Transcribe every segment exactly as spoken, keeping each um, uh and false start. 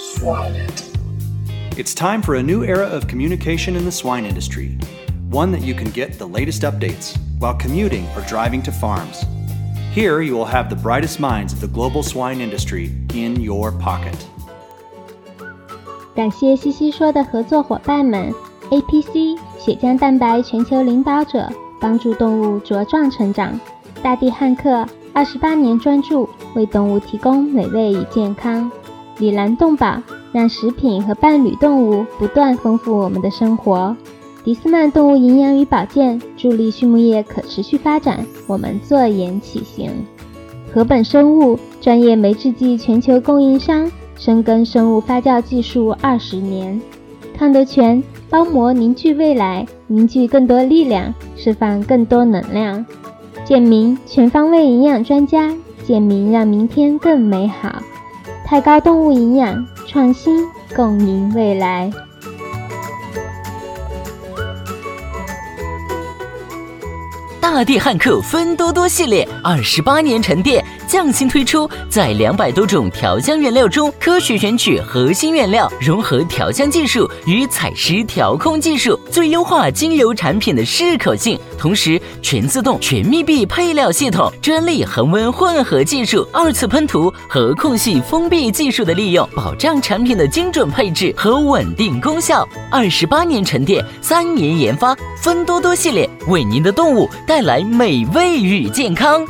Swine it. It's time for a new era of communication in the swine industry, one that you can get the latest updates while commuting or driving to farms. Here you will have the brightest minds of the global swine industry in your pocket. 感谢西西说的合作伙伴们 A P C 血浆蛋白全球领导者，帮助动物茁壮成长。大地汉克二十八年专注为动物提供美味与健康。里兰动保让食品和伴侣动物不断丰富我们的生活。迪斯曼动物营养与保健助力畜牧业可持续发展，我们坐言起行。禾本生物专业酶制剂全球供应商，深耕生物发酵技术二十年。康德全包膜凝聚未来，凝聚更多力量，释放更多能量。健明全方位营养专家，健明让明天更美好。太高动物营养，创新共赢未来。 大地汉克芬多多系列二十八年沉淀，匠心推出，在两百多种调香原料中科学选取核心原料，融合调香技术与采湿调控技术，最优化精油产品的适口性。同时，全自动全密闭配料系统、专利恒温混合技术、二次喷涂和空隙封闭技术的利用，保障产品的精准配置和稳定功效。二十八年沉淀，三年研发，芬多多系列为您的动物带来美味与健康。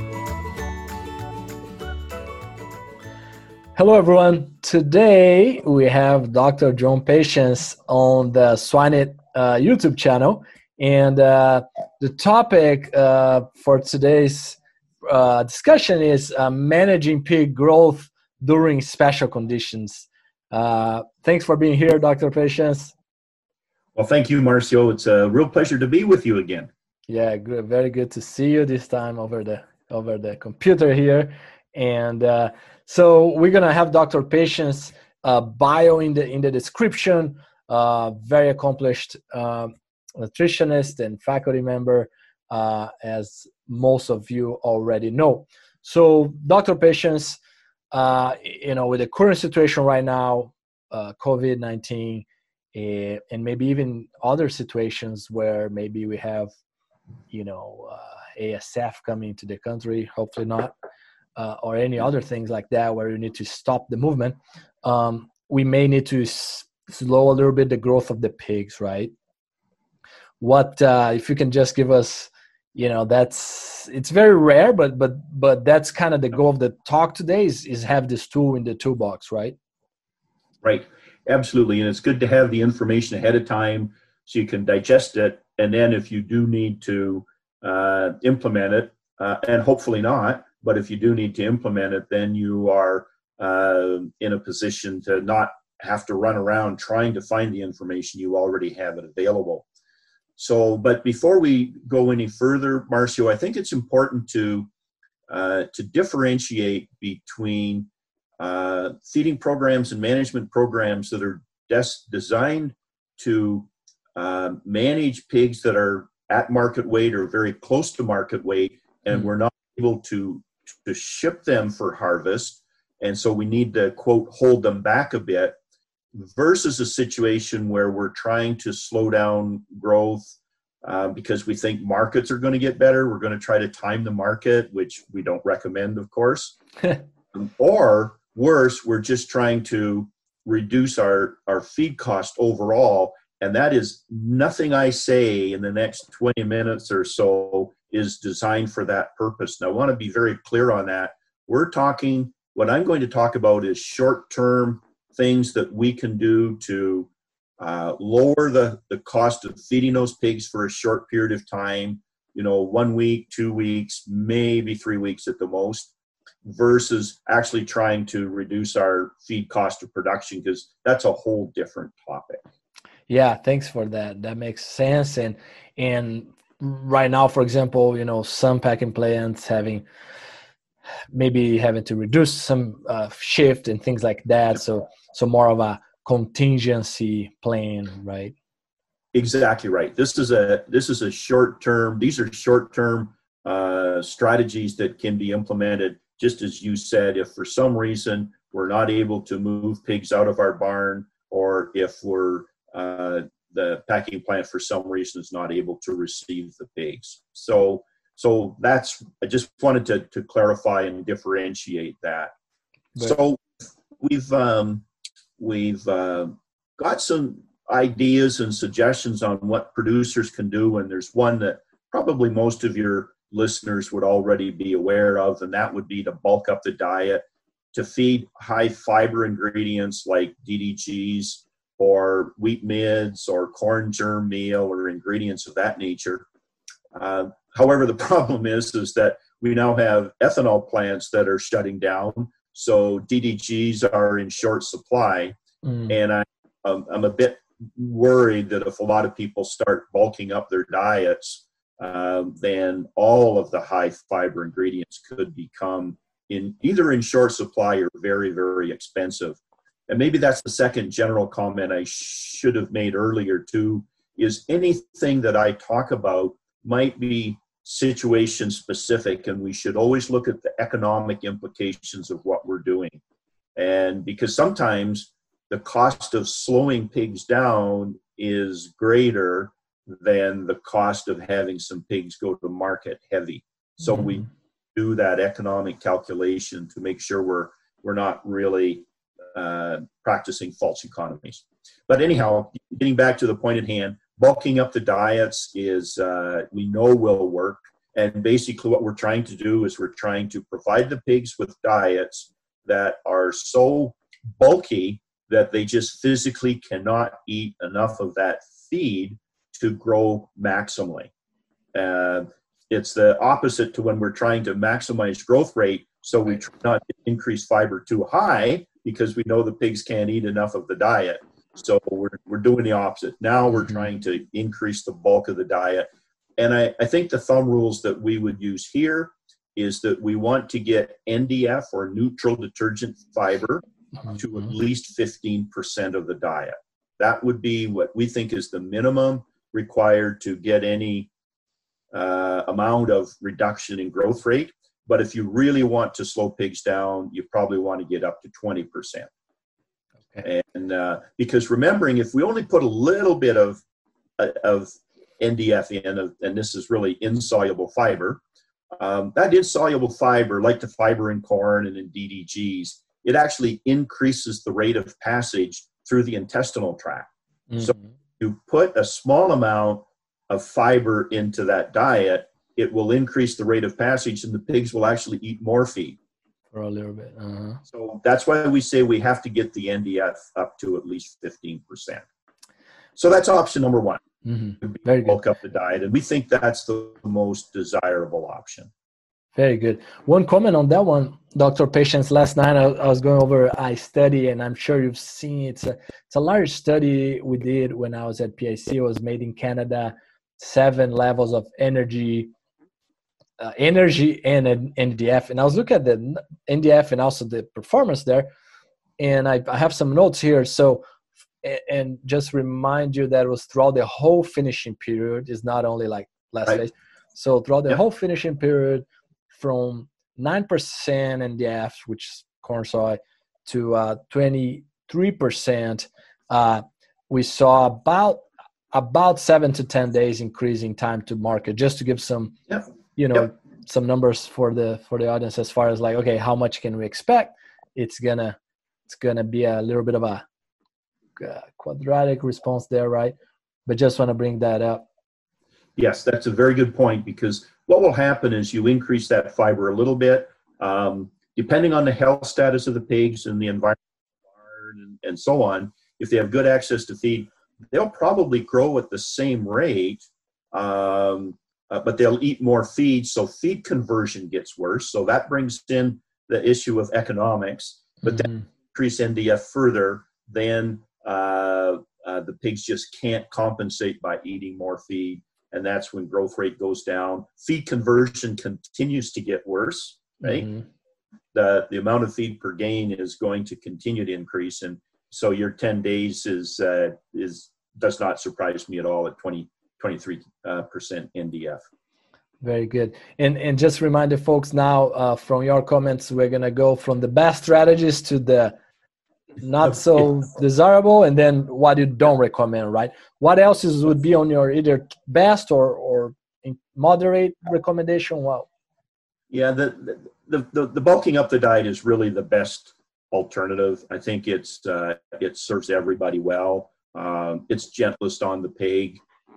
Hello, everyone. Today we have Doctor John Patience on the Swine It uh, YouTube channel. And uh, the topic uh, for today's uh, discussion is uh, managing pig growth during special conditions. Uh, thanks for being here, Doctor Patience. Well, thank you, Marcio. It's a real pleasure to be with you again. Yeah, good, very good to see you this time over the over the computer here. And uh, so we're gonna have Doctor Patience uh, bio in the in the description. Uh, very accomplished uh, nutritionist and faculty member, uh, as most of you already know. So, Doctor Patience, uh, you know, with the current situation right now, uh, COVID nineteen, uh, and maybe even other situations where maybe we have, you know, uh, A S F coming to the country, hopefully not, uh, or any other things like that where you need to stop the movement, um, we may need to s- slow a little bit the growth of the pigs, right? What uh, if you can just give us, you know, that's it's very rare, but but but that's kind of the goal of the talk today is is have this tool in the toolbox, right? Right, absolutely, and it's good to have the information ahead of time so you can digest it, and then if you do need to uh, implement it, uh, and hopefully not, but if you do need to implement it, then you are uh, in a position to not have to run around trying to find the information. You already have it available. So, but before we go any further, Marcio, I think it's important to uh, to differentiate between uh, feeding programs and management programs that are des- designed to uh, manage pigs that are at market weight or very close to market weight, and mm-hmm. we're not able to to ship them for harvest, and so we need to, quote, hold them back a bit, versus a situation where we're trying to slow down growth uh, because we think markets are going to get better. We're going to try to time the market, which we don't recommend, of course. Or worse, we're just trying to reduce our, our feed cost overall. And that is nothing I say in the next twenty minutes or so is designed for that purpose. And I want to be very clear on that. We're talking, what I'm going to talk about is short-term things that we can do to uh, lower the, the cost of feeding those pigs for a short period of time, you know, one week, two weeks, maybe three weeks at the most, versus actually trying to reduce our feed cost of production, because that's a whole different topic. Yeah, thanks for that. That makes sense. And and right now, for example, you know, some packing plants having maybe having to reduce some uh, shift and things like that. So so more of a contingency plan, right? Exactly right. This is a this is a short term. These are short term uh, strategies that can be implemented. Just as you said, if for some reason we're not able to move pigs out of our barn, or if we're uh, the packing plant for some reason is not able to receive the pigs. So, so that's, I just wanted to, to clarify and differentiate that. Right. So we've, um, we've uh, got some ideas and suggestions on what producers can do. And there's one that probably most of your listeners would already be aware of, and that would be to bulk up the diet, to feed high fiber ingredients like D D Gs, or wheat midds, or corn germ meal, or ingredients of that nature. Uh, however, the problem is, is that we now have ethanol plants that are shutting down, so D D Gs are in short supply. Mm. And I, um, I'm a bit worried that if a lot of people start bulking up their diets, uh, then all of the high fiber ingredients could become in either in short supply or very, very expensive. And maybe that's the second general comment I should have made earlier too, is anything that I talk about might be situation specific, and we should always look at the economic implications of what we're doing. And because sometimes the cost of slowing pigs down is greater than the cost of having some pigs go to market heavy. So mm-hmm. we do that economic calculation to make sure we're we're not really uh, practicing false economies. But anyhow, getting back to the point at hand, bulking up the diets is, uh, we know will work. And basically what we're trying to do is we're trying to provide the pigs with diets that are so bulky that they just physically cannot eat enough of that feed to grow maximally. Uh, it's the opposite to when we're trying to maximize growth rate, so we try not to increase fiber too high because we know the pigs can't eat enough of the diet. So we're we're doing the opposite. Now we're mm-hmm. trying to increase the bulk of the diet. And I, I think the thumb rules that we would use here is that we want to get N D F, or neutral detergent fiber, mm-hmm. to at least fifteen percent of the diet. That would be what we think is the minimum required to get any uh, amount of reduction in growth rate. But if you really want to slow pigs down, you probably want to get up to twenty percent. Okay. And uh, because remembering, if we only put a little bit of of N D F in, and this is really insoluble fiber, um, that insoluble fiber, like the fiber in corn and in D D Gs, it actually increases the rate of passage through the intestinal tract. Mm-hmm. So you put a small amount of fiber into that diet, it will increase the rate of passage, and the pigs will actually eat more feed. For a little bit. Uh-huh. So that's why we say we have to get the N D F up to at least fifteen percent. So that's option number one. Mm-hmm. Very bulk good. up the diet, and we think that's the most desirable option. Very good. One comment on that one, Doctor Patience. Last night I, I was going over a study, and I'm sure you've seen it. It's a, it's a large study we did when I was at P I C. It was made in Canada. Seven levels of energy, uh, energy and N D F. And I was looking at the N D F and also the performance there. And I, I have some notes here. So, and just remind you that it was throughout the whole finishing period. It's not only like last right. phase. So throughout the yep. whole finishing period, from nine percent N D F, which is corn soy, to uh, twenty-three percent, uh, we saw about about seven to ten days increasing time to market. Just to give some, yep. you know, yep. some numbers for the for the audience as far as like, okay, how much can we expect? It's gonna it's gonna be a little bit of a uh, quadratic response there, right? But just want to bring that up. Yes, that's a very good point, because what will happen is you increase that fiber a little bit, um, depending on the health status of the pigs and the environment and, and so on. If they have good access to feed, they'll probably grow at the same rate, um, uh, but they'll eat more feed, so feed conversion gets worse. So that brings in the issue of economics, but mm-hmm. then increase N D F further, then uh, uh, the pigs just can't compensate by eating more feed, and that's when growth rate goes down. Feed conversion continues to get worse, right? Mm-hmm. The, the amount of feed per gain is going to continue to increase, and so your ten days is uh, is does not surprise me at all at twenty, twenty-three percent uh, N D F. Very good. And and just remind the folks now, uh, from your comments, we're gonna go from the best strategies to the not so desirable, and then what you don't recommend, right? What else is, would be on your either best or or moderate recommendation? Wow. Yeah, the, the the the bulking up the diet is really the best alternative. I think it's uh, it serves everybody well. Um, it's gentlest on the pig,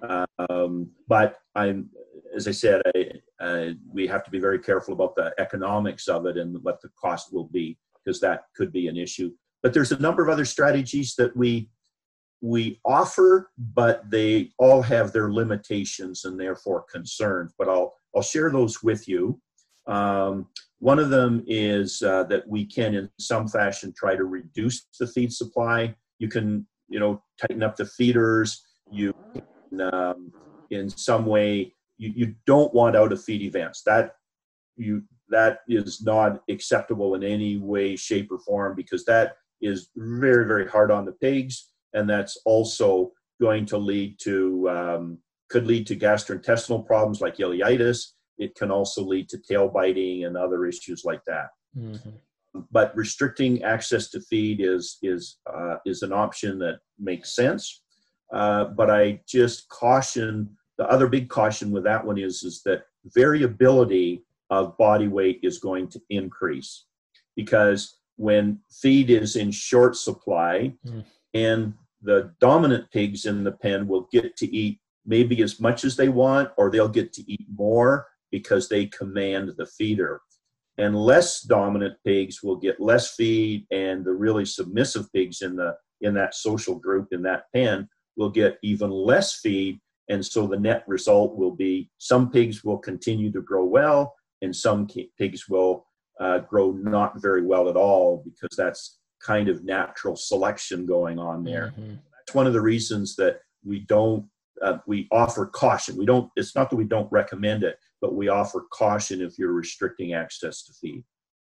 um, but I'm as I said, I, uh, we have to be very careful about the economics of it and what the cost will be, because that could be an issue. But there's a number of other strategies that we we offer, but they all have their limitations and therefore concerns. But I'll I'll share those with you. Um, one of them is uh, that we can, in some fashion, try to reduce the feed supply. You can, you know, tighten up the feeders. You can, um, in some way, you, you don't want out of feed events. That you that is not acceptable in any way, shape, or form, because that is very, very hard on the pigs, and that's also going to lead to um, could lead to gastrointestinal problems like ileitis. It can also lead to tail biting and other issues like that. Mm-hmm. But restricting access to feed is is uh, is an option that makes sense. Uh, but I just caution, the other big caution with that one is, is that variability of body weight is going to increase, because when feed is in short supply mm. and the dominant pigs in the pen will get to eat maybe as much as they want, or they'll get to eat more because they command the feeder. And less dominant pigs will get less feed, and the really submissive pigs in the in that social group, in that pen, will get even less feed. And so the net result will be some pigs will continue to grow well, and some pigs will uh, grow not very well at all, because that's kind of natural selection going on there. Mm-hmm. That's one of the reasons that we don't, uh, we offer caution. We don't, it's not that we don't recommend it, but we offer caution if you're restricting access to feed.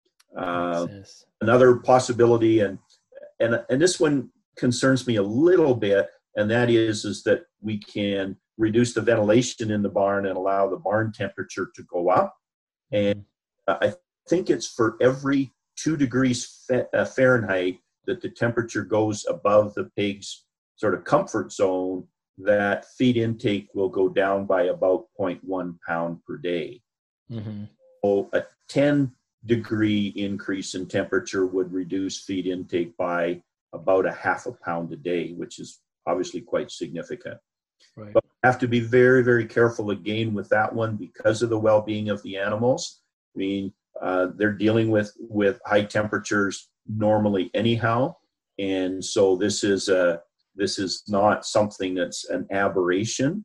Uh, another possibility, and, and, and this one concerns me a little bit, and that is, is that we can reduce the ventilation in the barn and allow the barn temperature to go up. And uh, I think it's for every two degrees Fahrenheit that the temperature goes above the pig's sort of comfort zone, that feed intake will go down by about zero point one pound per day. Mm-hmm. So a ten degree increase in temperature would reduce feed intake by about a half a pound a day, which is obviously quite significant. Right. But we have to be very, very careful again with that one because of the well-being of the animals. I mean, uh, they're dealing with, with high temperatures normally anyhow. And so this is a, this is not something that's an aberration.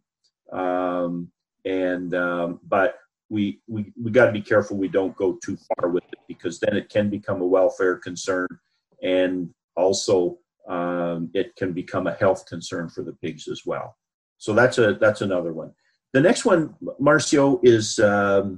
Um, and, um, but we, we, we got to be careful we don't go too far with it, because then it can become a welfare concern, and also um, it can become a health concern for the pigs as well. So that's a, that's another one. The next one, Marcio, is, um,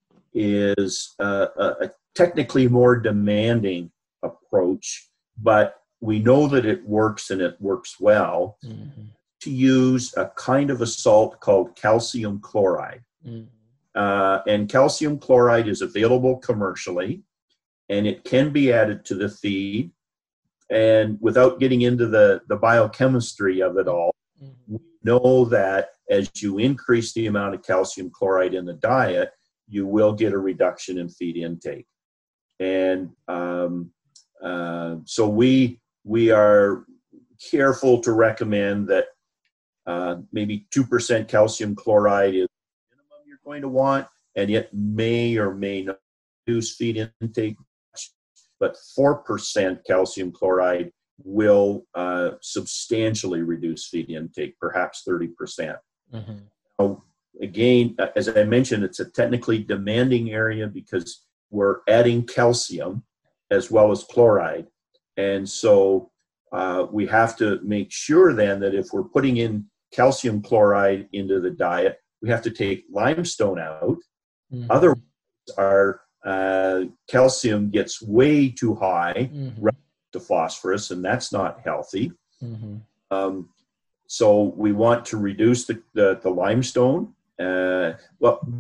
is uh, a, a technically more demanding approach, but we know that it works, and it works well, mm-hmm. to use a kind of a salt called calcium chloride. Mm-hmm. Uh, and calcium chloride is available commercially, and it can be added to the feed. And without getting into the, the biochemistry of it all, mm-hmm. we know that as you increase the amount of calcium chloride in the diet, you will get a reduction in feed intake. And um, uh, so we we are careful to recommend that uh, maybe two percent calcium chloride is the minimum you're going to want, and yet may or may not reduce feed intake, but four percent calcium chloride will uh, substantially reduce feed intake, perhaps thirty percent. Mm-hmm. Now, again, as I mentioned, it's a technically demanding area because we're adding calcium as well as chloride. And so uh, we have to make sure then that if we're putting in calcium chloride into the diet, we have to take limestone out. Mm-hmm. Otherwise, our uh, calcium gets way too high mm-hmm. relative to phosphorus, and that's not healthy. Mm-hmm. Um, so we want to reduce the, the, the limestone. Uh, well,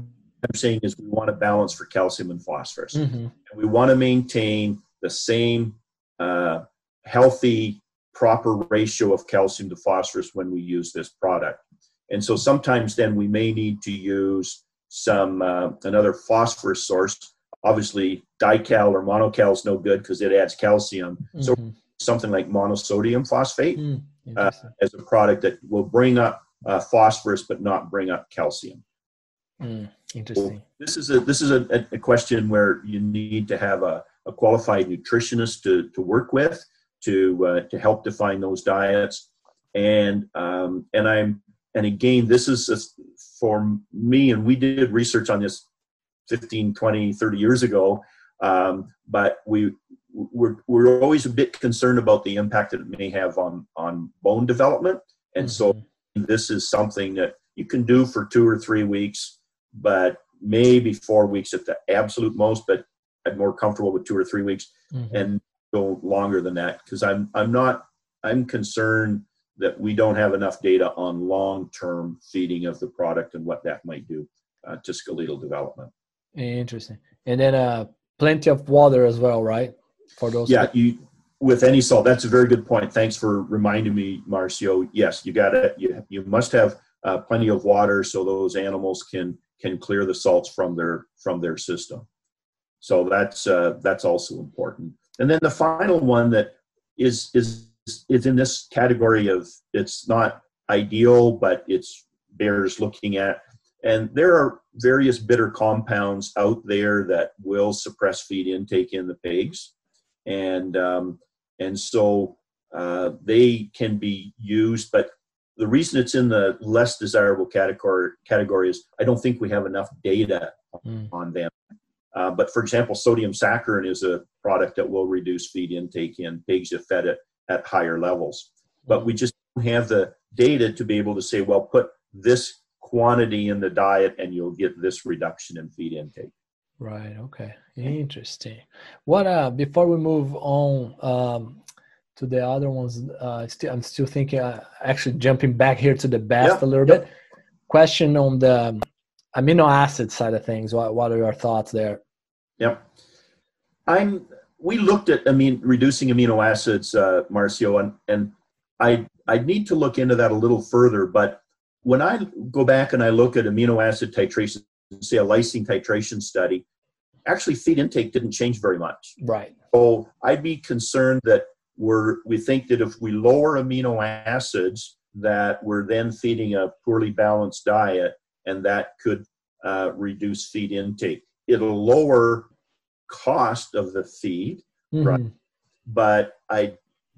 I'm saying is we want to balance for calcium and phosphorus. Mm-hmm. And we want to maintain the same uh, healthy, proper ratio of calcium to phosphorus when we use this product. And so sometimes then we may need to use some uh, another phosphorus source. Obviously, dical or monocal is no good because it adds calcium. Mm-hmm. So something like monosodium phosphate mm, uh, as a product that will bring up uh, phosphorus but not bring up calcium. Mm, interesting. So this is a this is a, a question where you need to have a, a qualified nutritionist to to work with to uh, to help define those diets. And um, and I'm and again, this is a, for me, and we did research on this fifteen, twenty, thirty years ago, um, but we we're, we're always a bit concerned about the impact that it may have on on bone development. And mm-hmm. so this is something that you can do for two or three weeks, but maybe four weeks at the absolute most, but I'm more comfortable with two or three weeks mm-hmm. and go longer than that. Cause I'm, I'm not, I'm concerned that we don't have enough data on long-term feeding of the product and what that might do uh, to skeletal development. Interesting. And then uh, plenty of water as well, right? For those. Yeah. You, with any salt, that's a very good point. Thanks for reminding me, Marcio. Yes, you got it. You, you must have uh, plenty of water so those animals can, can clear the salts from their, from their system. So that's, uh, that's also important. And then the final one that is, is, is in this category of, it's not ideal, but it's bears looking at. And there are various bitter compounds out there that will suppress feed intake in the pigs. And, um, and so uh, they can be used, but the reason it's in the less desirable category, category is I don't think we have enough data mm. on them. Uh, but for example, sodium saccharin is a product that will reduce feed intake in pigs if fed at, at higher levels. But we just don't have the data to be able to say, well, put this quantity in the diet and you'll get this reduction in feed intake. Right. Okay. Interesting. What, uh, before we move on um, to the other ones, uh, still, I'm still thinking, uh, actually jumping back here to the best yep. a little yep. bit. Question on the amino acid side of things. What, what are your thoughts there? Yep. I'm, we looked at, I mean, reducing amino acids, uh, Marcio, and, and I, I need to look into that a little further, but when I go back and I look at amino acid titration, say a lysine titration study, actually feed intake didn't change very much. Right. So I'd be concerned that we're, we think that if we lower amino acids, that we're then feeding a poorly balanced diet, and that could uh, reduce feed intake. It'll lower cost of the feed, mm-hmm. right? But I,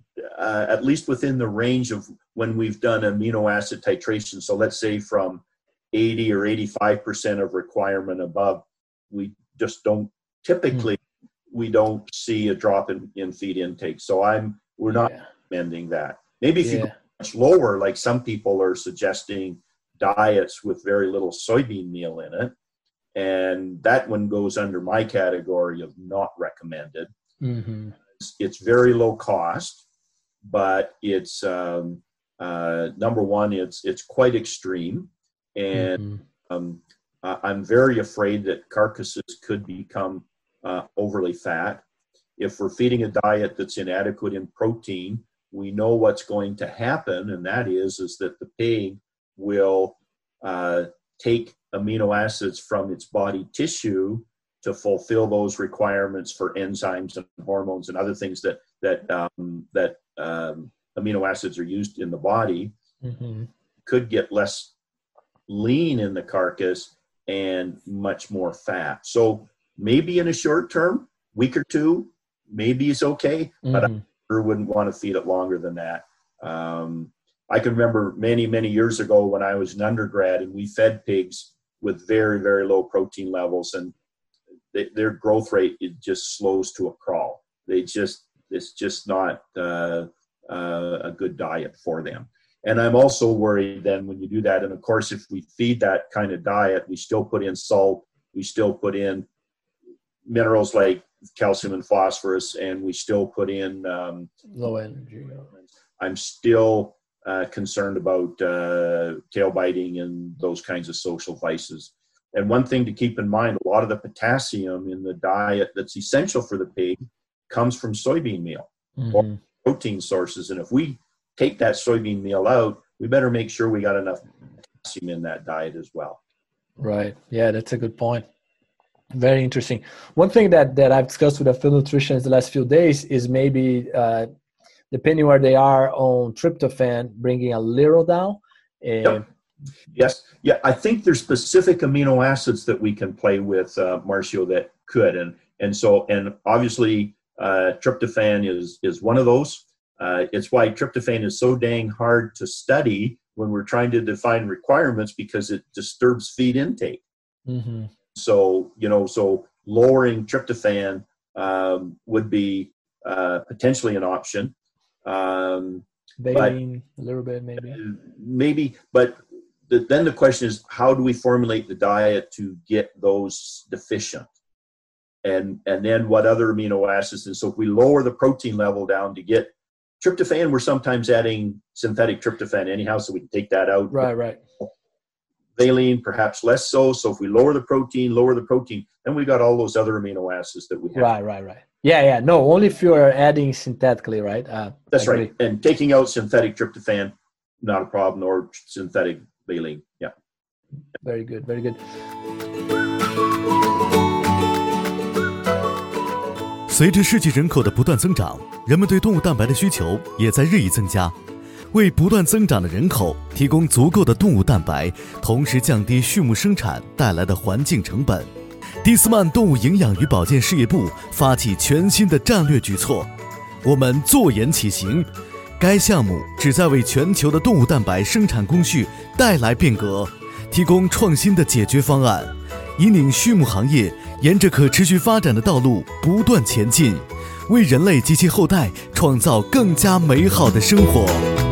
uh, at least within the range of when we've done amino acid titration, so let's say from eighty or eighty-five percent of requirement above, we just don't, typically, mm. we don't see a drop in, in feed intake. So I'm, we're not yeah. recommending that. Maybe if yeah. you go much lower, like some people are suggesting diets with very little soybean meal in it, and that one goes under my category of not recommended. Mm-hmm. It's, it's very low cost, but it's, um, uh, number one, it's, it's quite extreme. And mm-hmm. um, uh, I'm very afraid that carcasses could become uh, overly fat. If we're feeding a diet that's inadequate in protein, we know what's going to happen, and that is, is that the pig will uh, take amino acids from its body tissue to fulfill those requirements for enzymes and hormones and other things that that um, that um, amino acids are used in the body. Mm-hmm. Could get less lean in the carcass and much more fat. So maybe in a short term, week or two, maybe it's okay, mm-hmm. but I sure wouldn't want to feed it longer than that. Um, I can remember many, many years ago when I was an undergrad and we fed pigs with very, very low protein levels, and they, their growth rate, it just slows to a crawl. They just, it's just not uh, uh, a good diet for them. And I'm also worried then when you do that, and of course, if we feed that kind of diet, we still put in salt, we still put in minerals like calcium and phosphorus, and we still put in um, low energy. I'm still uh, concerned about uh, tail biting and those kinds of social vices. And one thing to keep in mind, a lot of the potassium in the diet that's essential for the pig comes from soybean meal mm-hmm. or protein sources. And if we take that soybean meal out, we better make sure we got enough potassium in that diet as well. Right. Yeah, that's a good point. Very interesting. One thing that, that I've discussed with a few nutritionists the last few days is maybe, uh, depending where they are on tryptophan, bringing a little down. And yep. Yes. Yeah, I think there's specific amino acids that we can play with, uh, Marcio, that could. And and so, and obviously, uh, tryptophan is, is one of those. Uh, it's why tryptophan is so dang hard to study when we're trying to define requirements, because it disturbs feed intake. Mm-hmm. So, you know, so lowering tryptophan um, would be uh, potentially an option. Um, Baleen, a little bit, maybe. Maybe, but the, then the question is, how do we formulate the diet to get those deficient? And and then what other amino acids? And so if we lower the protein level down to get tryptophan, we're sometimes adding synthetic tryptophan anyhow, so we can take that out. Right, right. Valine, perhaps less so. So if we lower the protein, lower the protein, then we got all those other amino acids that we have. Right, right, right. Yeah, yeah. No, only if you are adding synthetically, right? Uh, That's right. And taking out synthetic tryptophan, not a problem, or synthetic valine. Yeah. Very good, very good. 随着世界人口的不断增长，人们对动物蛋白的需求也在日益增加。为不断增长的人口提供足够的动物蛋白，同时降低畜牧生产带来的环境成本。蒂斯曼动物营养与保健事业部发起全新的战略举措，我们坐言起行。该项目旨在为全球的动物蛋白生产工序带来变革，提供创新的解决方案，引领畜牧行业沿着可持续发展的道路不断前进，为人类及其后代创造更加美好的生活。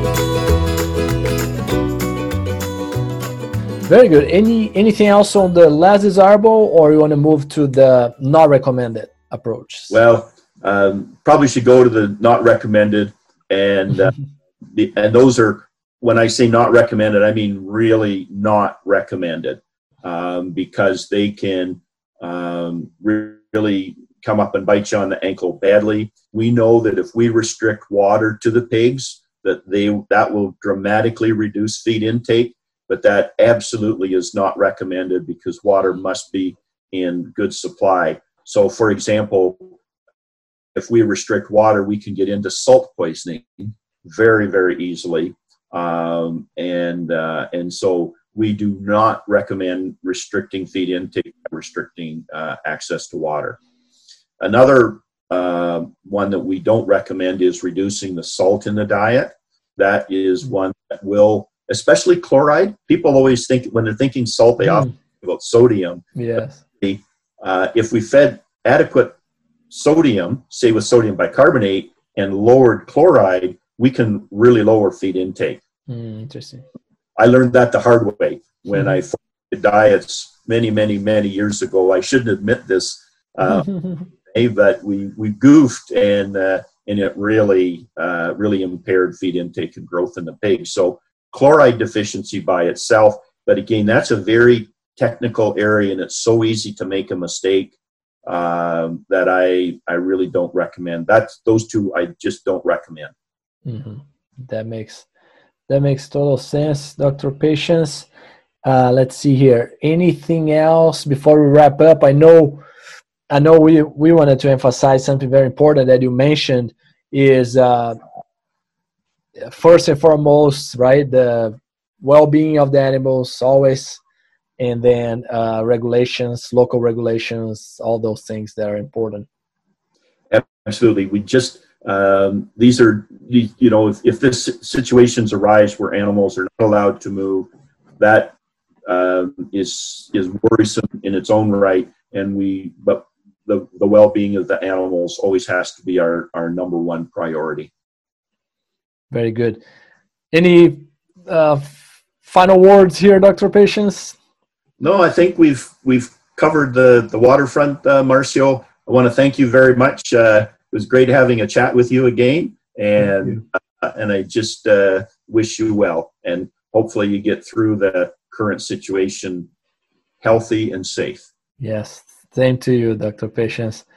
Very good. Any anything else on the less desirable, or you want to move to the not recommended approach? Well, um, probably should go to the not recommended, and uh, the, and those are, when I say not recommended, I mean really not recommended, um, because they can um, really come up and bite you on the ankle badly. We know that if we restrict water to the pigs, that they that will dramatically reduce feed intake. But that absolutely is not recommended, because water must be in good supply. So, for example, if we restrict water, we can get into salt poisoning very, very easily. Um, and uh, and so we do not recommend restricting feed intake, restricting uh, access to water. Another uh, one that we don't recommend is reducing the salt in the diet. That is one that will, especially chloride. People always think, when they're thinking salt, they mm. often think about sodium. Yes. Uh, if we fed adequate sodium, say with sodium bicarbonate, and lowered chloride, we can really lower feed intake. Mm, interesting. I learned that the hard way when mm. I formulated diets many, many, many years ago. I shouldn't admit this, uh, but we, we goofed, and uh, and it really, uh, really impaired feed intake and growth in the pig. So chloride deficiency by itself, but again, that's a very technical area, and it's so easy to make a mistake um, that I I really don't recommend. That's those two I just don't recommend. Mm-hmm. That makes that makes total sense, Doctor Patience. Uh, let's see here. Anything else before we wrap up? I know, I know we we wanted to emphasize something very important that you mentioned is. Uh, First and foremost, right, the well-being of the animals always, and then uh, regulations, local regulations, all those things that are important. Absolutely. We just, um, these are, you know, if, if this situations arise where animals are not allowed to move, that uh, is is worrisome in its own right. And we, but the, the well-being of the animals always has to be our, our number one priority. Very good. Any uh, final words here, Doctor Patience? No, I think we've we've covered the the waterfront, uh, Marcio. I want to thank you very much. Uh, it was great having a chat with you again, and uh, and I just uh, wish you well, and hopefully you get through the current situation healthy, and safe. Yes, same to you, Doctor Patience.